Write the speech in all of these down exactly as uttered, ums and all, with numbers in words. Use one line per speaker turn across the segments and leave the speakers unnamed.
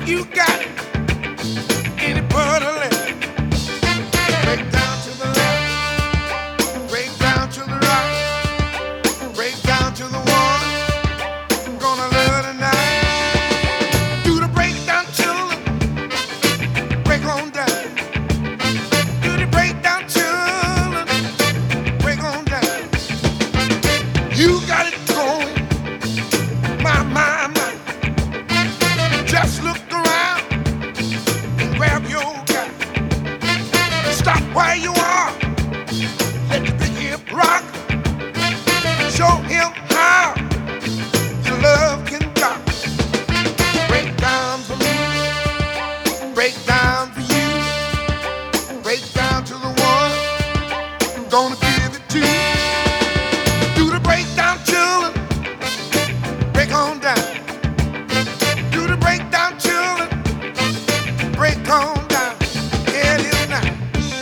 You got any butter left? Break down to the left, break down to the right, break down to the one. I'm gonna love tonight. Do the breakdown children, break on down. Do the breakdown children, break on down. You got it going, my, my, my. Just look around and grab your guy. Stop where you are. Let the big hip rock. Show him how your love can rock. Break down for me. Break down for you. Break down to the one I'm gonna give it to. Do the breakdown, children. Break on down. Do the breakdown, children. Break on down. Yeah, it is now.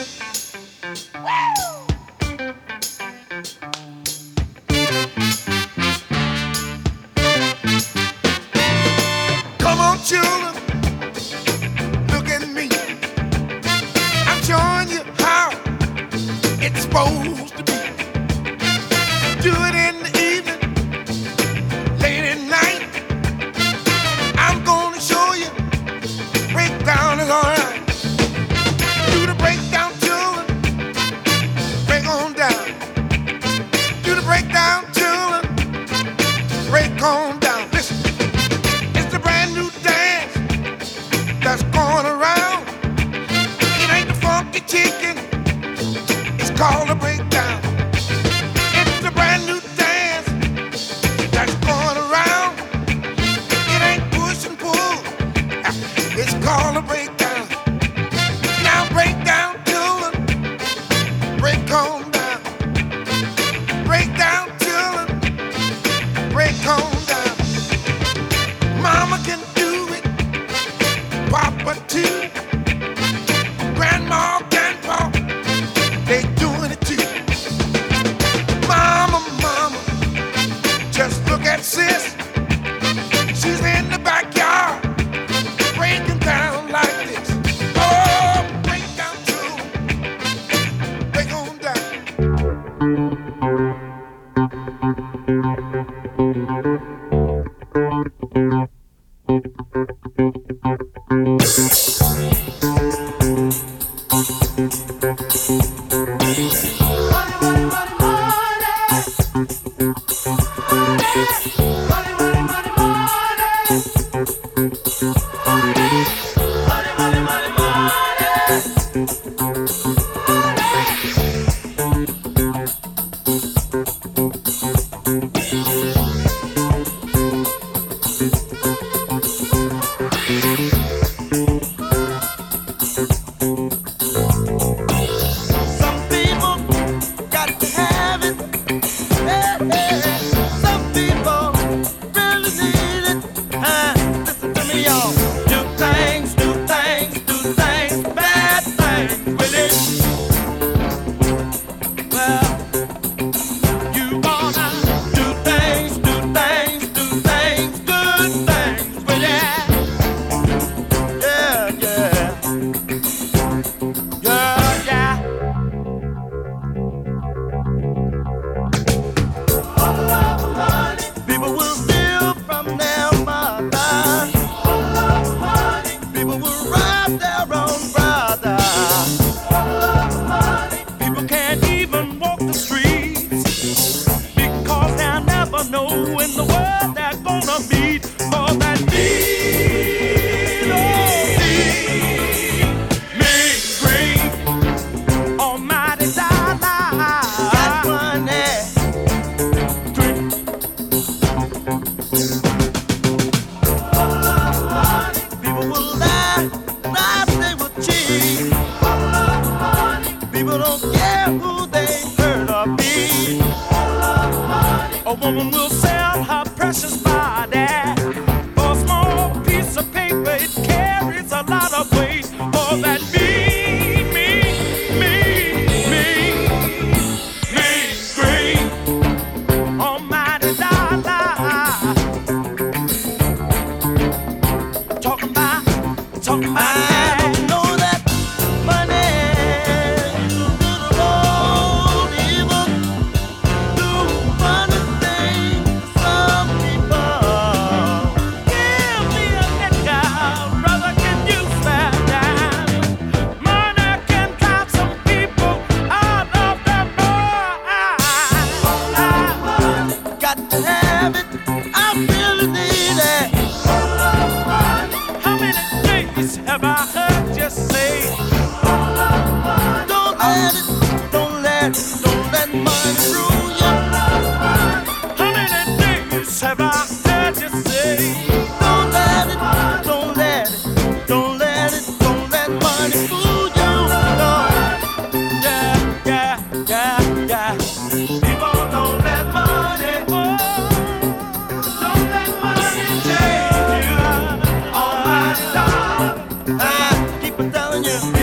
Come on, children. Look at me. I'm showing you how it's supposed to be. Do it in the evening, late at night. I'm gonna show you. Breakdown is alright. Do the breakdown, children. Break on down. Do the breakdown, children. Break on down. Listen, it's a brand new dance that's going around. It ain't the funky chicken. It's called a breakdown. It's a brand new dance that's going around. It ain't push and pull. It's called a breakdown. Now break down, children. Break on down. Break down, children. Break on down. Mama can do it. Papa too. Grandma, grandpa, they doing it too. Mama, mama, just look at sis. She's in the backyard. Breaking down like this. Oh, break down too. Break on down. Some people got to have it. Yeah, yeah. Some people really need it. Uh, listen to me, y'all. Do things, do things, do things, bad things with it. Well, you wanna do things, do things, do things, good things with it. Yeah, yeah. Yeah, yeah. People will steal from their mother. People will rob their own brother. People can't even walk the streets because they'll never know in the world they're gonna meet. For that need, oh, need me green. Almighty dollar, got money. People will lie, lie, they will cheat. People don't care who they hurt or beat. A woman will sell her precious body for a small piece of paper. It carries a lot of weight. For that me, me, me, me, me, green. Almighty dollar. Talking about
Have I heard you say? Don't let it, don't let it, don't let mine rule you. How many days have I heard you say? Don't let it, don't let it, don't let it, don't let money fool you. No. Yeah, yeah, yeah, yeah. People don't let money, oh, don't let money change you. All my time. I keep on telling you.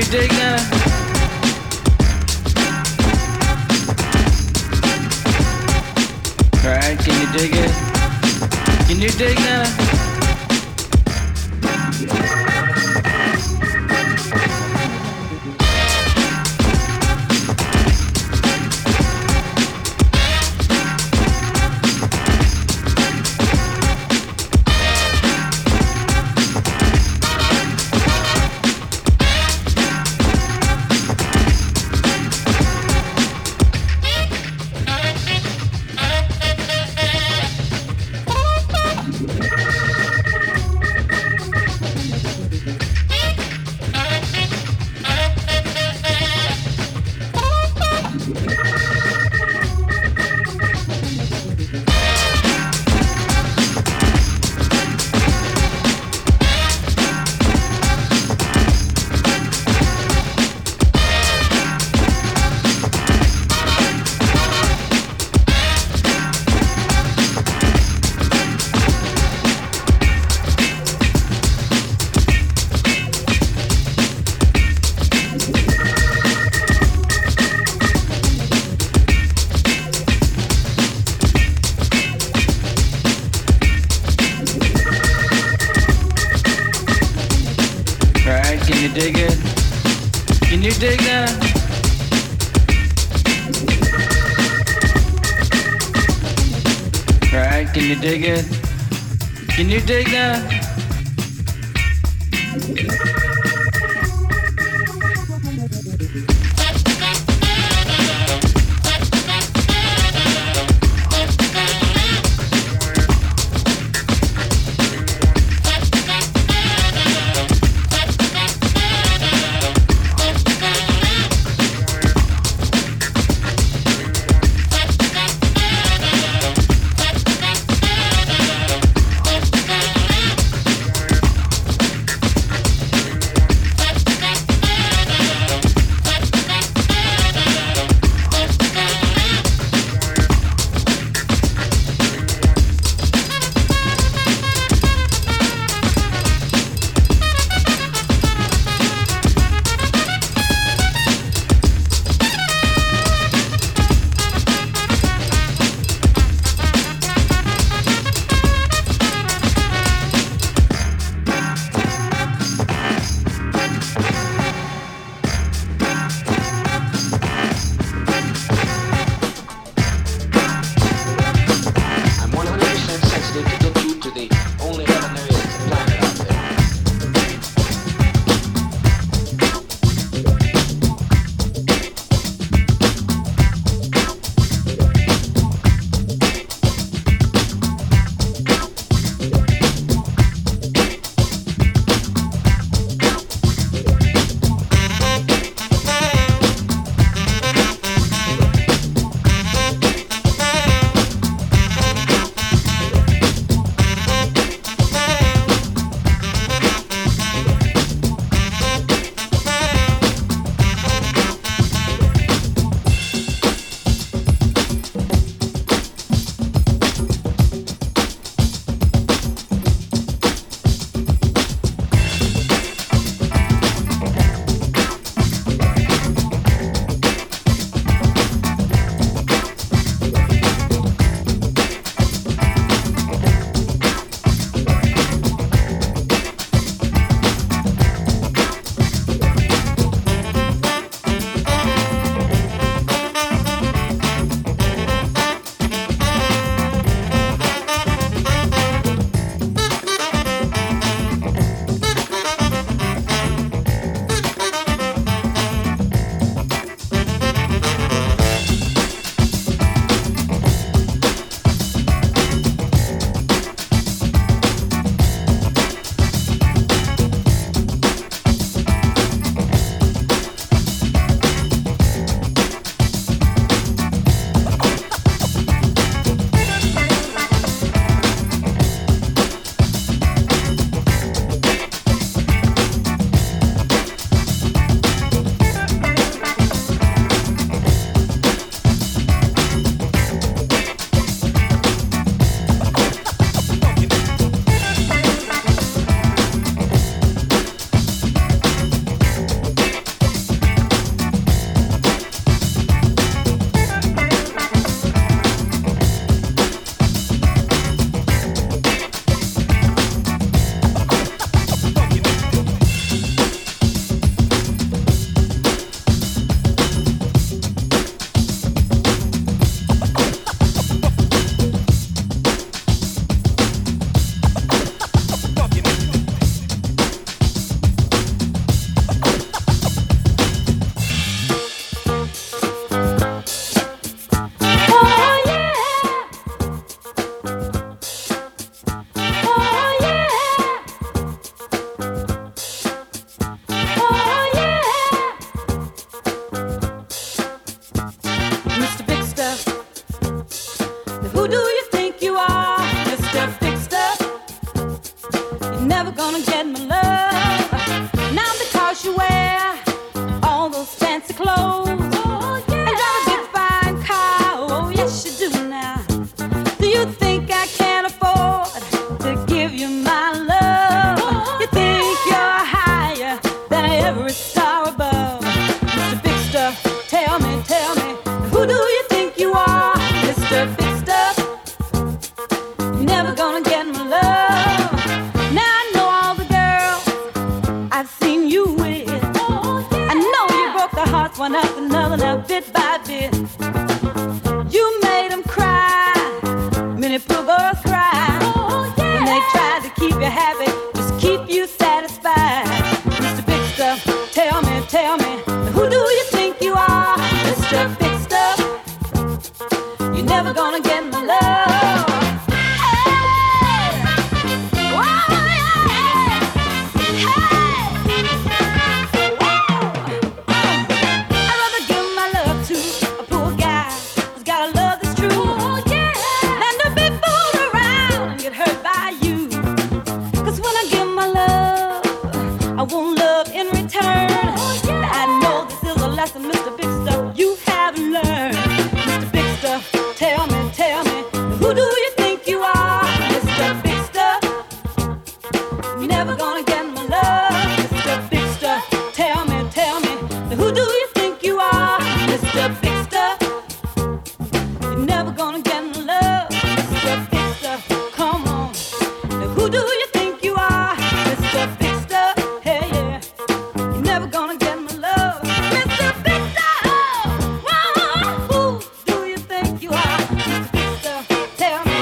you dig that? Right, can you dig it? Can you dig that? Can you dig it? Can you dig that? Right, can you dig it? Can you dig that?
fancy clothes. Oh, yeah. And drive a big fine car. Oh, yes, you do now. Do you think I can afford to give you my love? Oh, you think yeah. you're higher than every star above? Mister Big Stuff, tell me, tell me, who do you think you are? Mister Big Stuff, you're never gonna get my love. Now I know all the girls I've seen you with. Oh, yeah. I know you broke their hearts one after another, now bit by bit. You made them cry, many poor girls cry. Oh, yeah. When they tried to keep you happy, just keep you satisfied. Mister Big Stuff, tell me, tell me, who do you think you are? Mister Big Stuff, you're never gonna get my love. Hey! Whoa, yeah! Hey! Whoa! I'd rather give my love to a poor guy who's got a love that's true. Oh, yeah. Than to be fooled around and get hurt by you. 'Cause when I give my love, I want love in return. Oh, yeah. I know this is a lesson, Mister Big Stuff, you haven't learned. Mister Big Stuff, tell me, tell me, who do you think you are? Mister Big Stuff, you're never gonna get my love. Mister Big Stuff, tell me, tell me, who do you think you are? Mister Big Stuff, you're never gonna get my love. Mister Big Stuff, come on, who do you think you are? Mister Big Stuff, hey yeah, you're never gonna get my love. Mister Big Stuff, whoa, who do you think you are? Mister Big Stuff, tell me.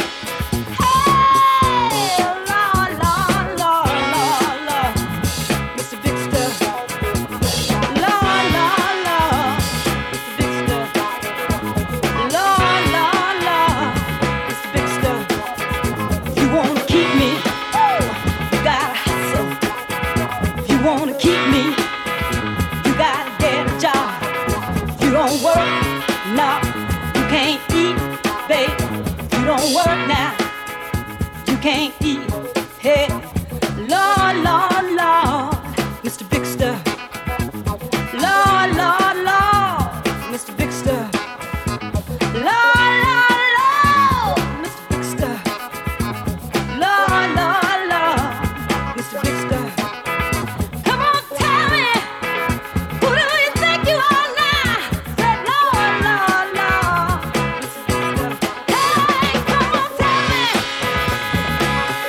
Hey, Lord, Lord, Lord, Lord, Lord, Mister Big Stuff, Lord, Lord, Lord, Mister Big Stuff, Lord, Lord, Lord, Mister Big Stuff. You wanna keep me? You gotta hustle. You wanna keep me? You gotta get a job. You don't work, no, you can't eat, babe. You don't work now, you can't eat. Hey, Lord, Lord, Lord, Mister Big Stuff. Lord, Lord, Lord, Mister Big Stuff. Lord, Lord, Lord, Mister Big Stuff. Lord, Lord, Lord, Mister Big Stuff. Come on, tell me, who do you think you are now? Say, Lord, Lord, Lord, Mister Big Stuff. Hey, come on, tell me.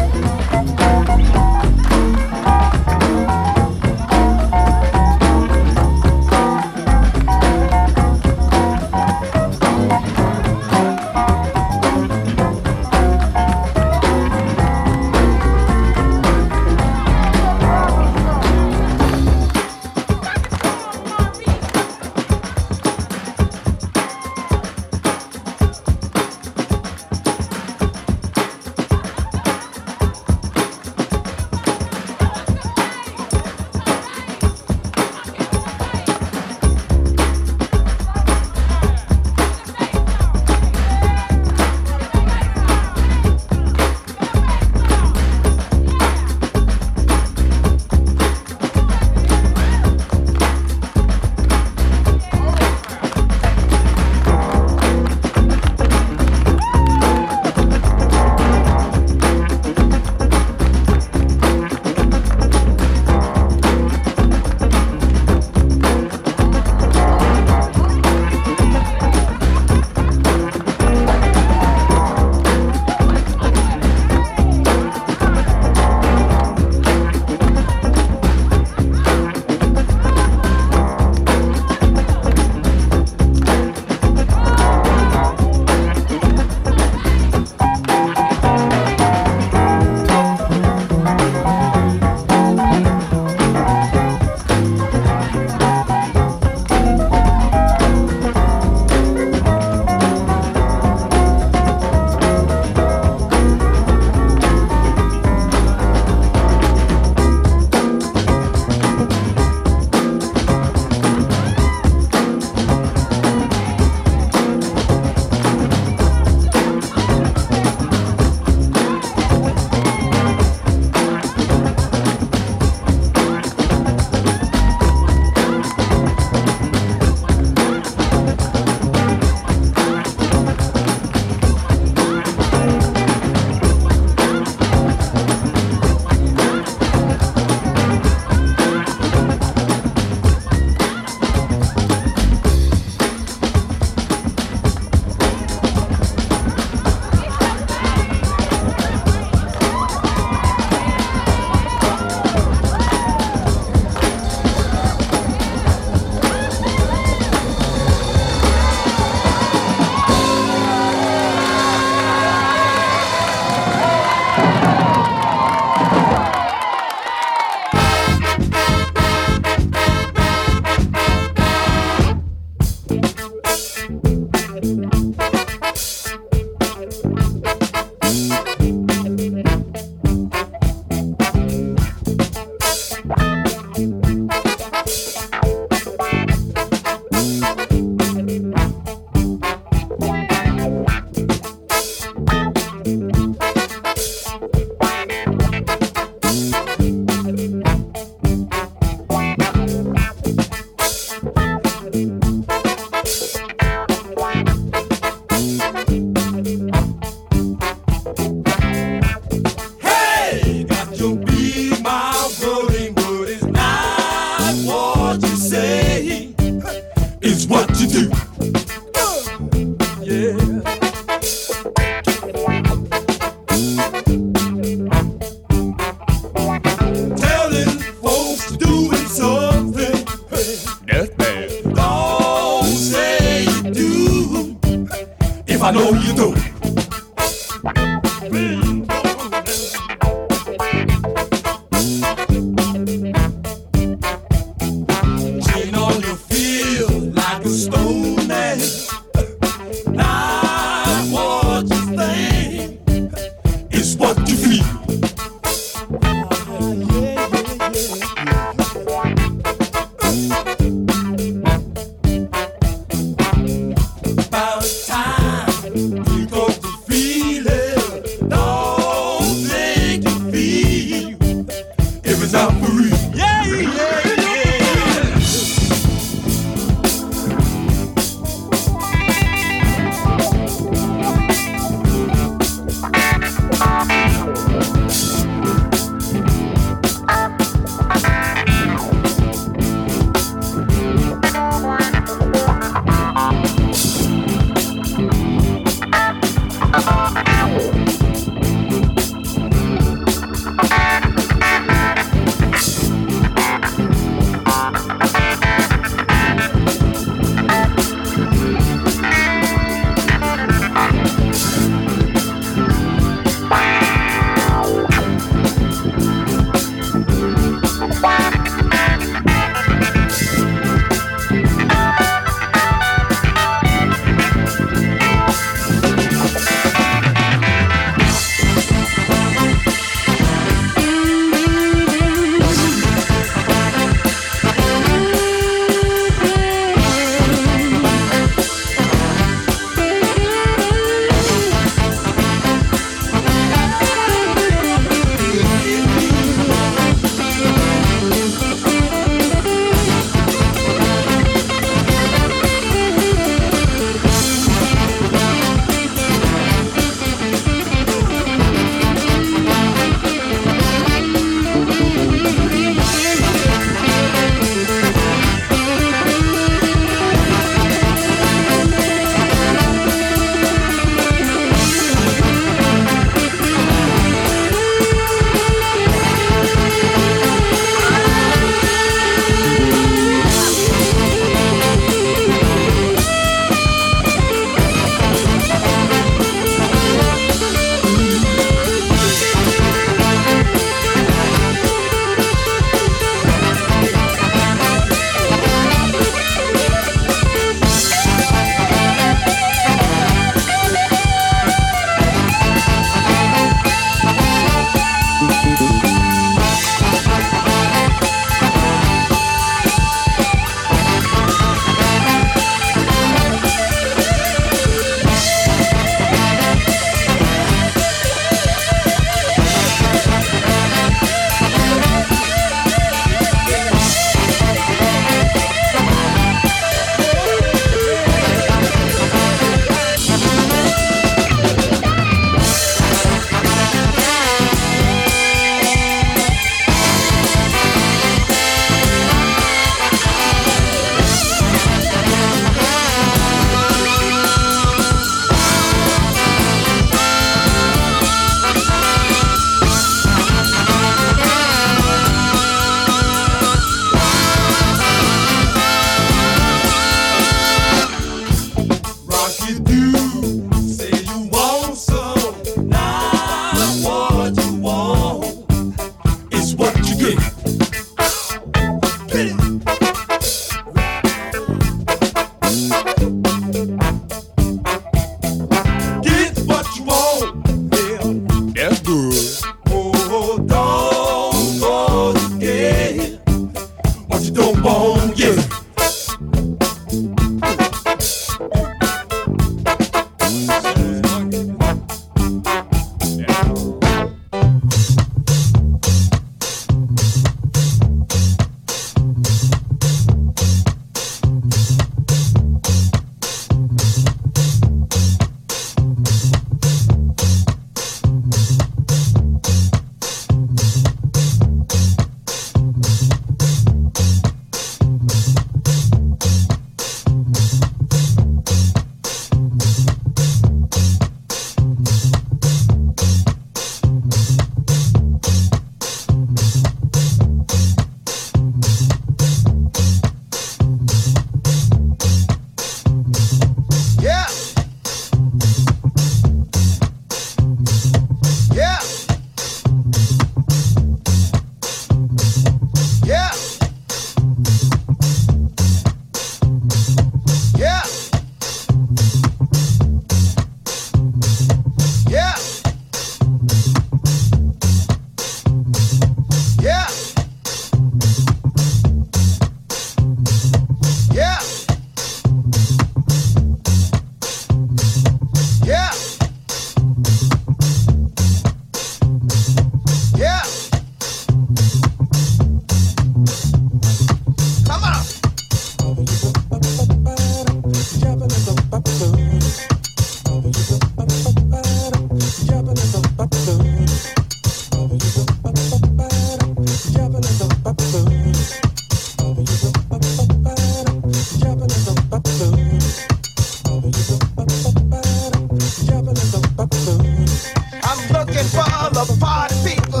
people.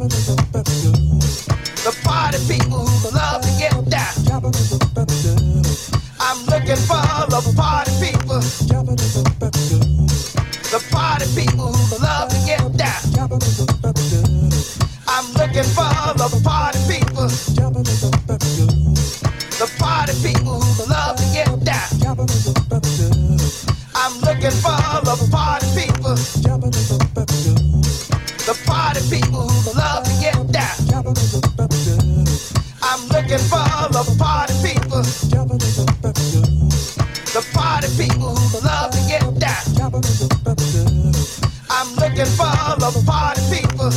The party people who love to get down. I'm looking for the party people. The party people who love to get down. I'm looking for the party people. The party people who love to get down. I'm looking for the party people. The party people who love to get down. I'm looking for the party people. The party people who love to get down. I'm looking for the party people.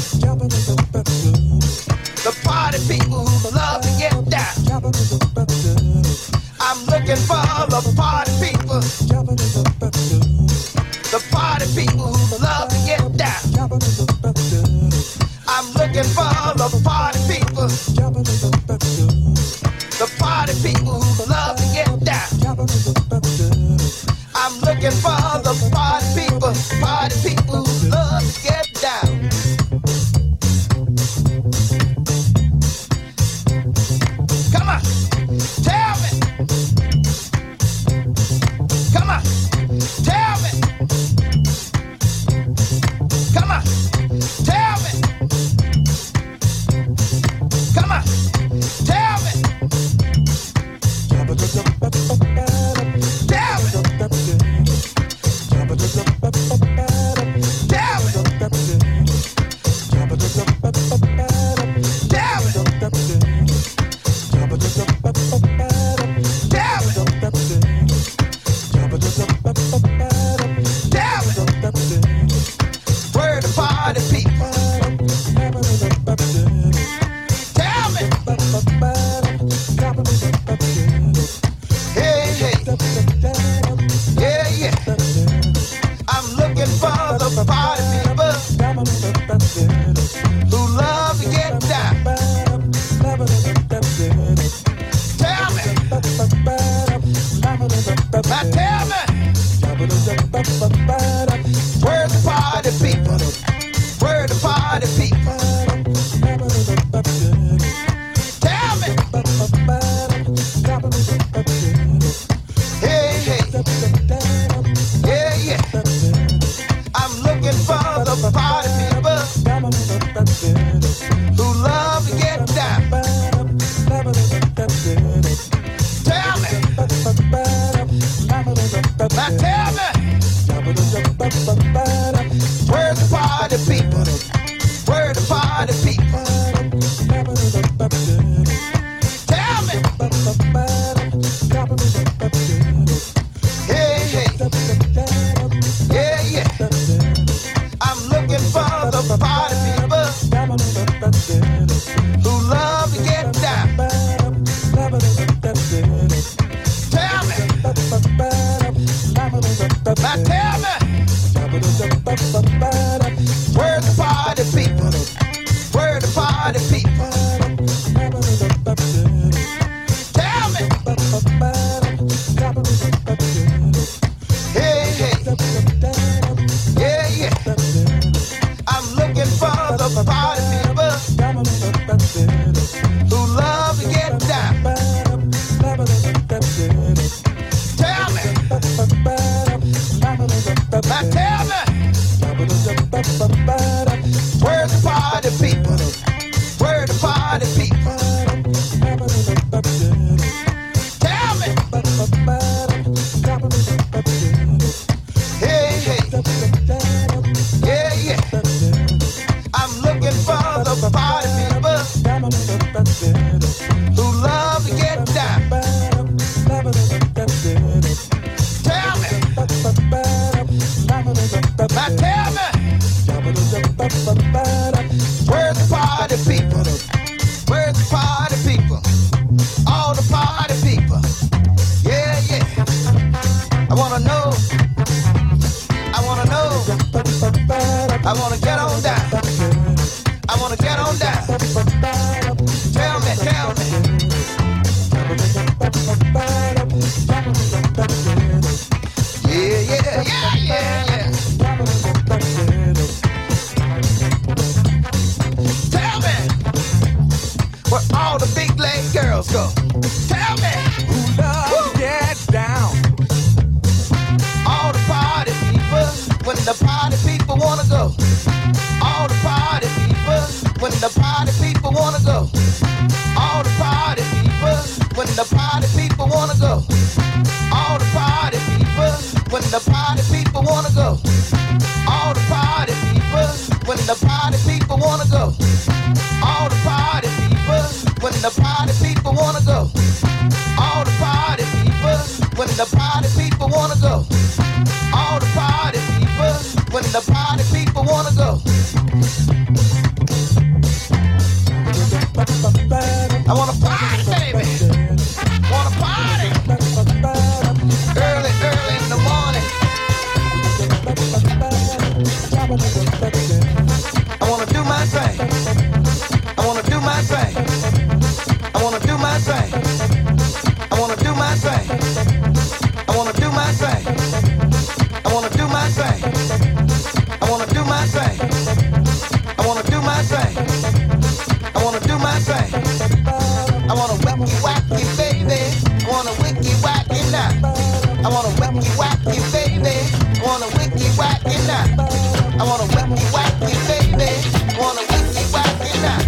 The party people who love to get down. I'm looking for the party people. The party people who love to get down. I'm looking for the party people. The party people who love to get down. I'm looking for the party people. Party people who love to get down. Come on, tell me. Come on, tell me. Come on, tell me. Come on, tell me. Tell me. Tell me. Where the party people? Tell me. Hey, hey. Yeah, yeah. I'm looking for the party people who love to get down. Tell me. Now tell me. Where's the party people? Where the party people? Tell me. Hey, hey. Yeah, yeah. I'm looking for the party people who love to get down. Tell me. Now tell me. Where's the party people? Where the party people? Tell me. Hey, hey. Yeah, yeah. I'm looking for the party people who love to get down. Tell me. Now tell me. Where's the party people? Where the party people? Tell me. Hey, hey. Yeah, yeah. I'm looking for the party people who love to get down. Tell me. Now tell me. Where's the party people? Where the party people? Tell me. Hey, hey. Yeah, yeah. I'm looking for the party people who love to get down. Tell me. Now tell me. Where's the party people? Where's the party people? All the party people. Yeah, yeah. I wanna know. I wanna know. I wanna get on down. I wanna get on down. Tell me, tell me. Yeah, yeah, yeah, yeah, yeah.
the party people wanna go. All the party people, when the party people wanna go. All the party people, when the party people wanna go. All the party people, when the party people wanna go. All the party people, when the party people wanna go. All the party people, when the party people wanna go. All the party people, when the party people wanna go. I wanna party, baby. Wanna party. Early, early in the morning. I wanna do my thing. I wanna do my thing. I wanna do my thing. I wanna do my thing. I wanna do my thing. I wanna do my thing. I wanna do my thing. I wanna do my thing. I wanna do my thing. I wanna wacky wacky baby. I wanna wicky wacky now. I wanna wacky wacky baby. I wanna wicky wacky now. I wanna wacky wacky baby. I wanna wicky wacky now.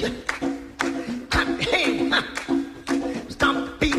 Hey, stomp beat.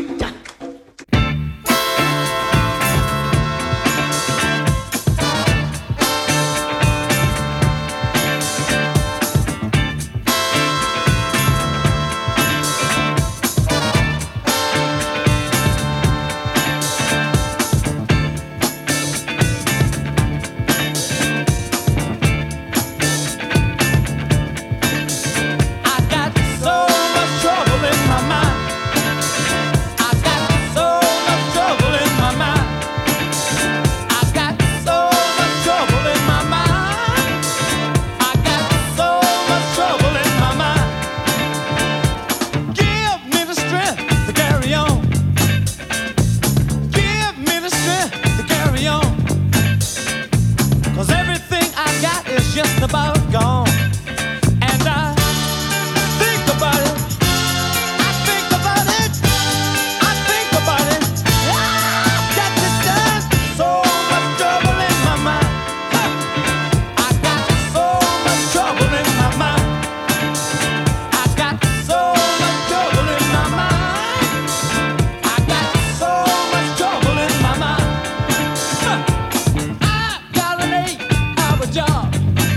Just about gone, and I think about it. I think about it. I think about it. I got to done so much trouble in my mind. Huh. I got so much trouble in my mind. I got so much trouble in my mind. I got so much trouble in my mind. Huh. I got an eight-hour job.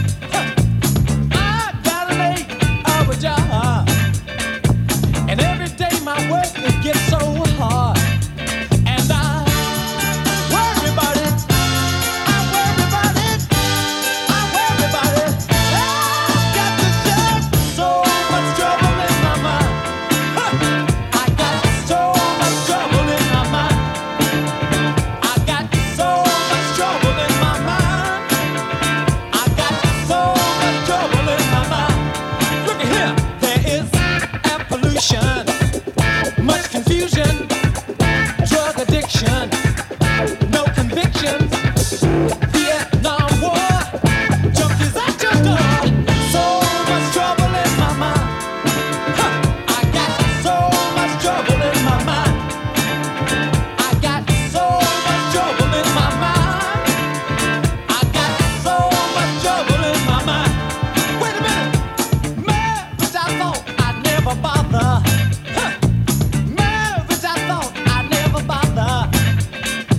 And every day my work it gets so hard, and I worry about it. I worry about it. I worry about it. I got to just so much trouble in my mind. Huh. I got so much trouble in my mind. I got so much trouble in my mind. I got so much trouble in my mind. Look at here, there is pollution, much confusion, drug addiction, no convictions, Vietnam War, junkies at your door, so much trouble in my mind. Huh. I got so much trouble in my mind. I got so much trouble in my mind. I got so much trouble in my mind. Wait a minute, marriage I thought I'd never bother. Huh. Marriage I thought I'd never bother.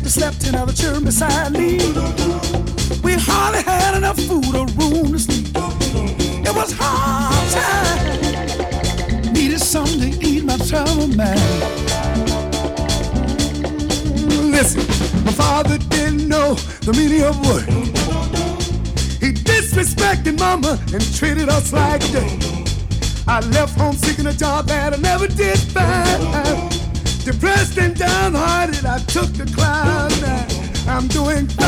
We slept in other children beside me. We hardly had enough food or room to sleep. It was hard time. Needed something to eat my trouble man. Listen, my father didn't know the meaning of work. He disrespected mama and treated us like dirt. I left home seeking a job that I never did find. Depressed and downhearted, I took the cloud nine. I'm doing fine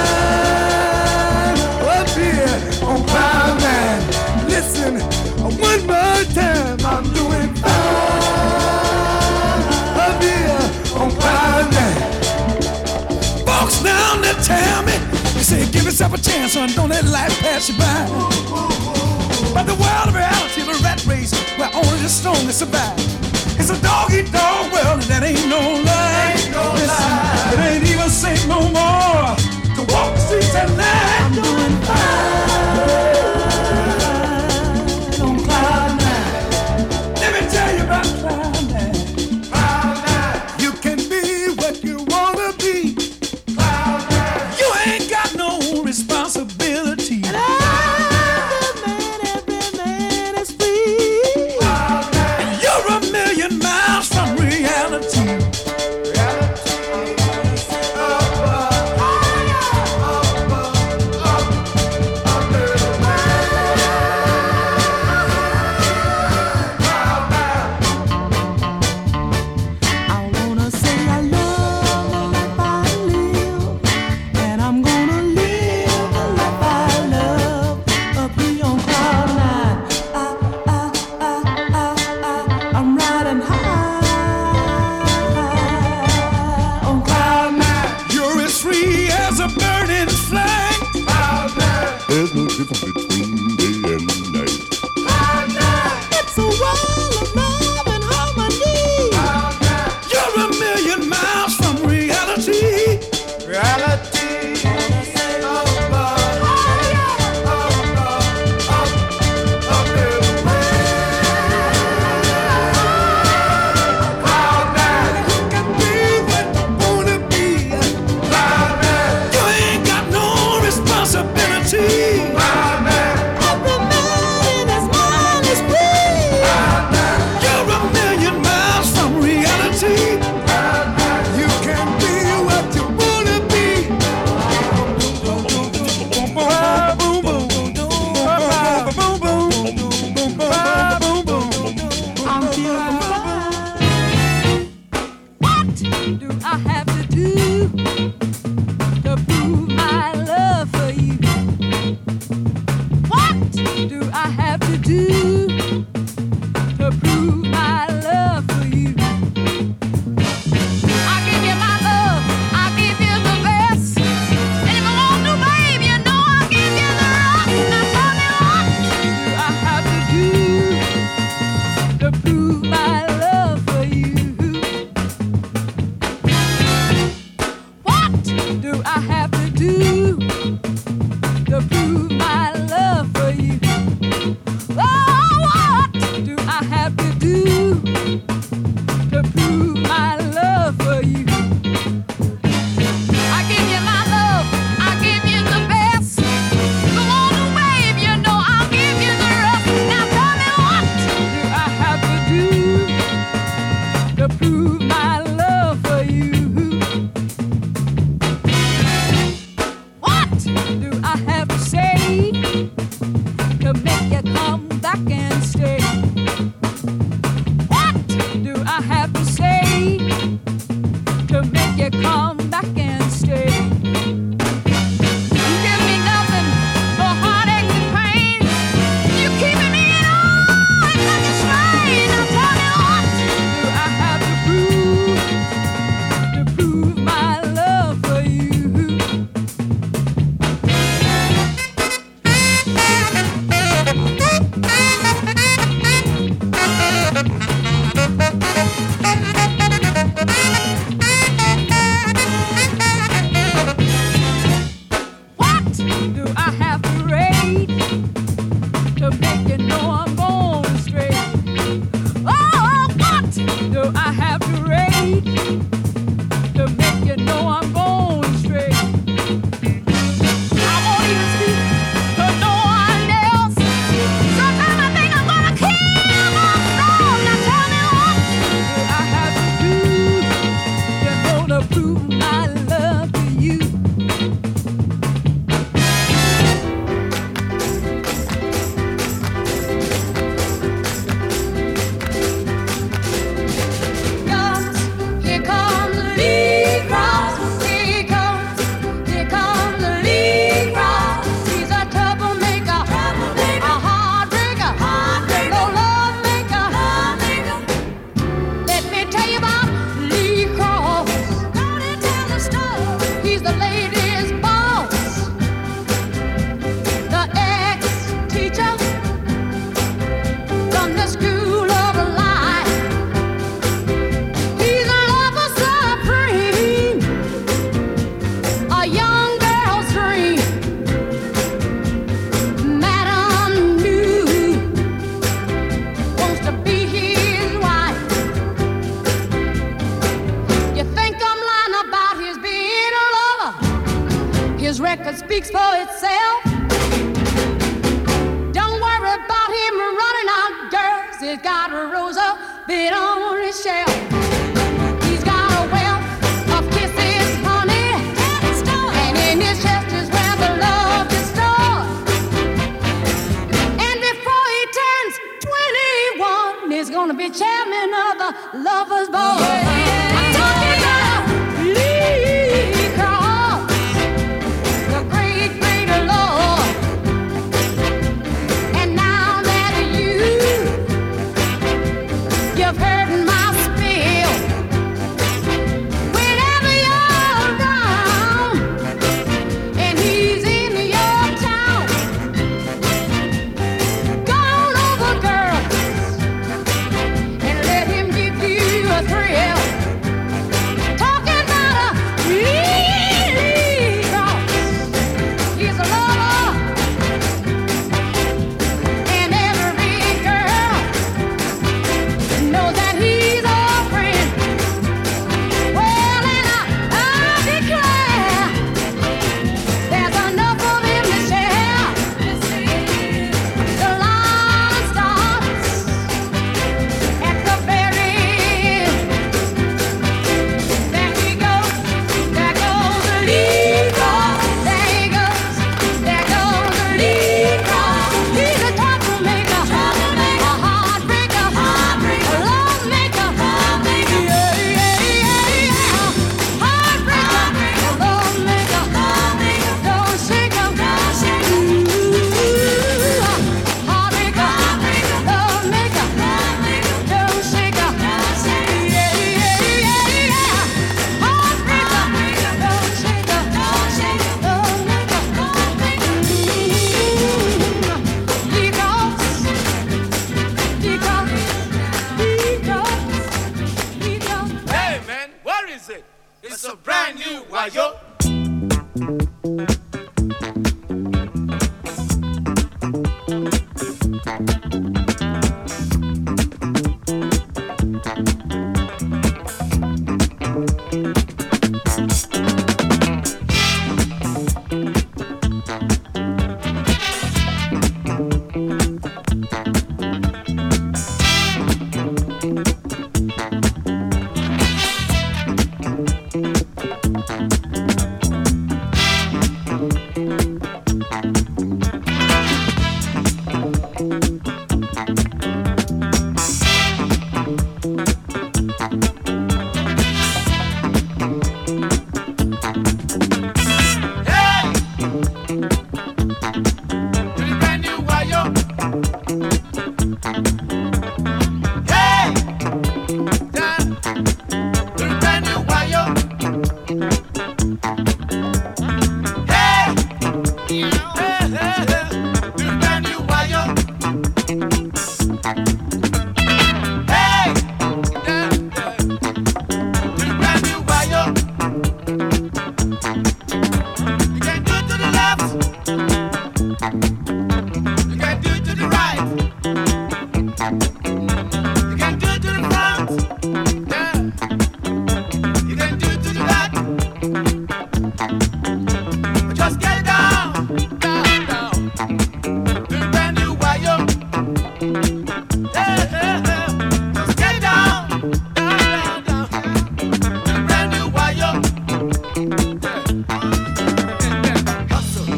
up here on cloud nine. Listen, one more time, I'm doing fine up here on cloud nine. Folks down there tell me, they say give yourself a chance, son, don't let life pass you by. But the world of reality, the rat race, where only the strongest survive. It's a dog-eat-dog world, and that ain't no lie. Ain't no Listen, lie. It ain't even safe no more to walk the streets at night. I'm doing fine on cloud nine. Let me tell you about cloud nine. Cloud nine. You can be what you wanna be. Cloud nine. You ain't got no responsibility. And every man, every man is free. Cloud nine. And you're a million miles from reality.
record speaks for itself. Don't worry about him running out girls. He's got a rose up bit on his shelf. He's got a wealth of kisses, honey, and in his chest is where the love is stored. And before he turns twenty-one, he's gonna be chairman of the Lovers Board. I'm talking about Lee Cross, the great, great Lord. And now that you, you've heard my spiel, whenever you're around and he's in your town, go on over, girls, and let him give you a thrill. Talking about a Lee Cross, he's a lover, and every girl knows that he's a friend. Well, and I, I declare, there's enough of him to share. The line starts at the very end. There he goes, there goes the Lee Cross. There he goes, there goes the Lee Cross. He's a troublemaker, a heartbreaker, a love maker. Yeah, yeah, yeah, yeah. Heartbreaker, a love maker. Don't shake him. Ooh, heartbreaker, love maker. Don't shake him. Yeah, yeah, yeah, yeah. Heartbreaker, don't shake him. Love maker. He goes, he goes, he goes, he goes.
Hey man, what is it? It's a brand new Wayo. Hey! To the brand new Wayo. Hey! Down. To the brand new Wayo. Hey! Hey, hey, hey. To the brand new Wayo. Hey! Down, down. To the brand new Wayo. You can do it to the left. You can do it to the right. You can do it to the front. Yeah. You can do it to the back. But just get down, down, down. To the brand new Wayo. Yeah, yeah, yeah. Just get down, down, down, down. To the brand new Wayo. Yeah. Hustle.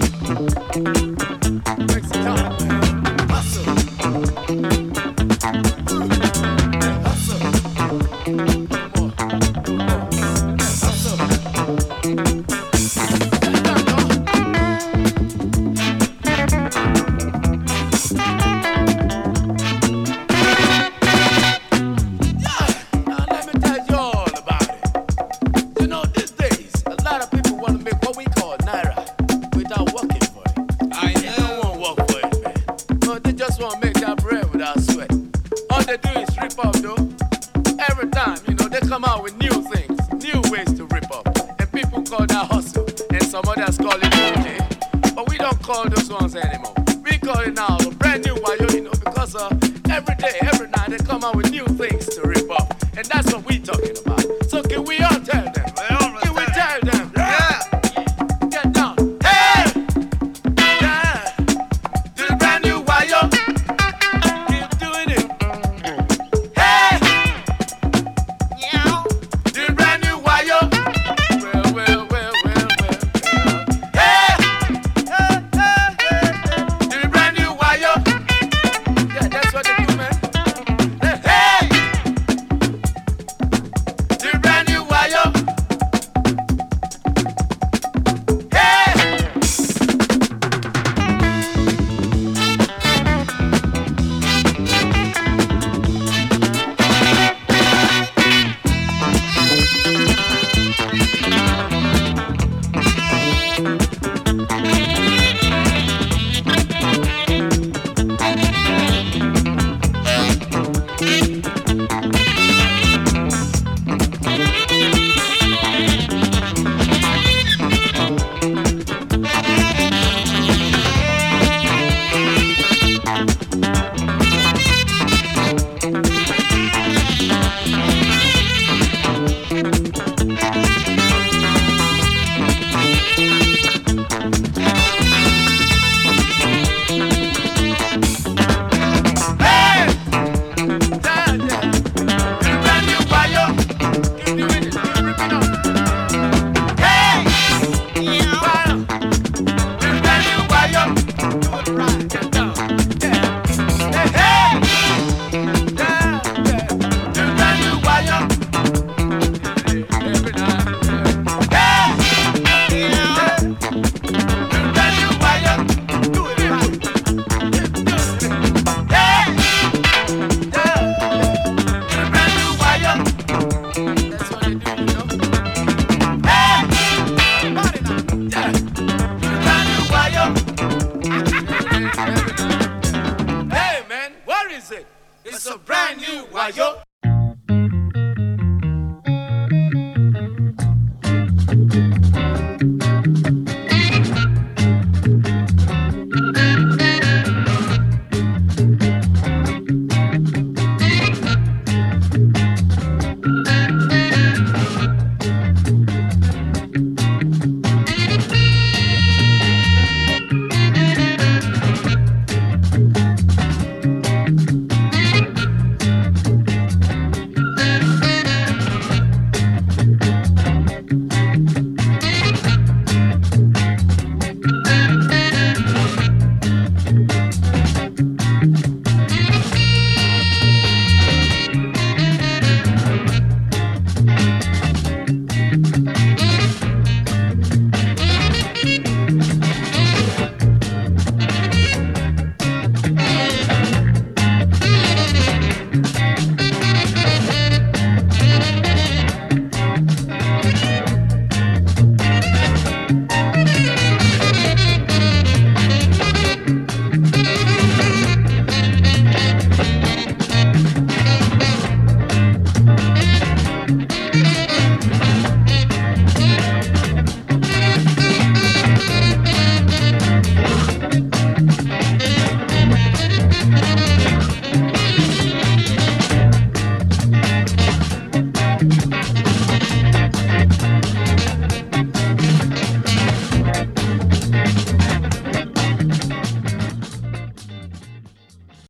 Make some time. Hustle. Hustle. More. Hustle. Yeah. Now let me tell you all about it. You know, these days, a lot of people want to make what we call naira without working for it. I know. They don't want to work for it, man. No, they just want to make that bread without sweat. All they do is rip up, though. Every time, you know, they come out with new things, new ways to rip up. And people call that hustle, and some others call it O J. But we don't call those ones anymore. We call it now a brand new Wayo, you know, because uh, every day, every night, they come out with new things to rip up. And that's what we talking about. So can we all tell them? Can we tell them? Yeah. Get down. Hey! Thank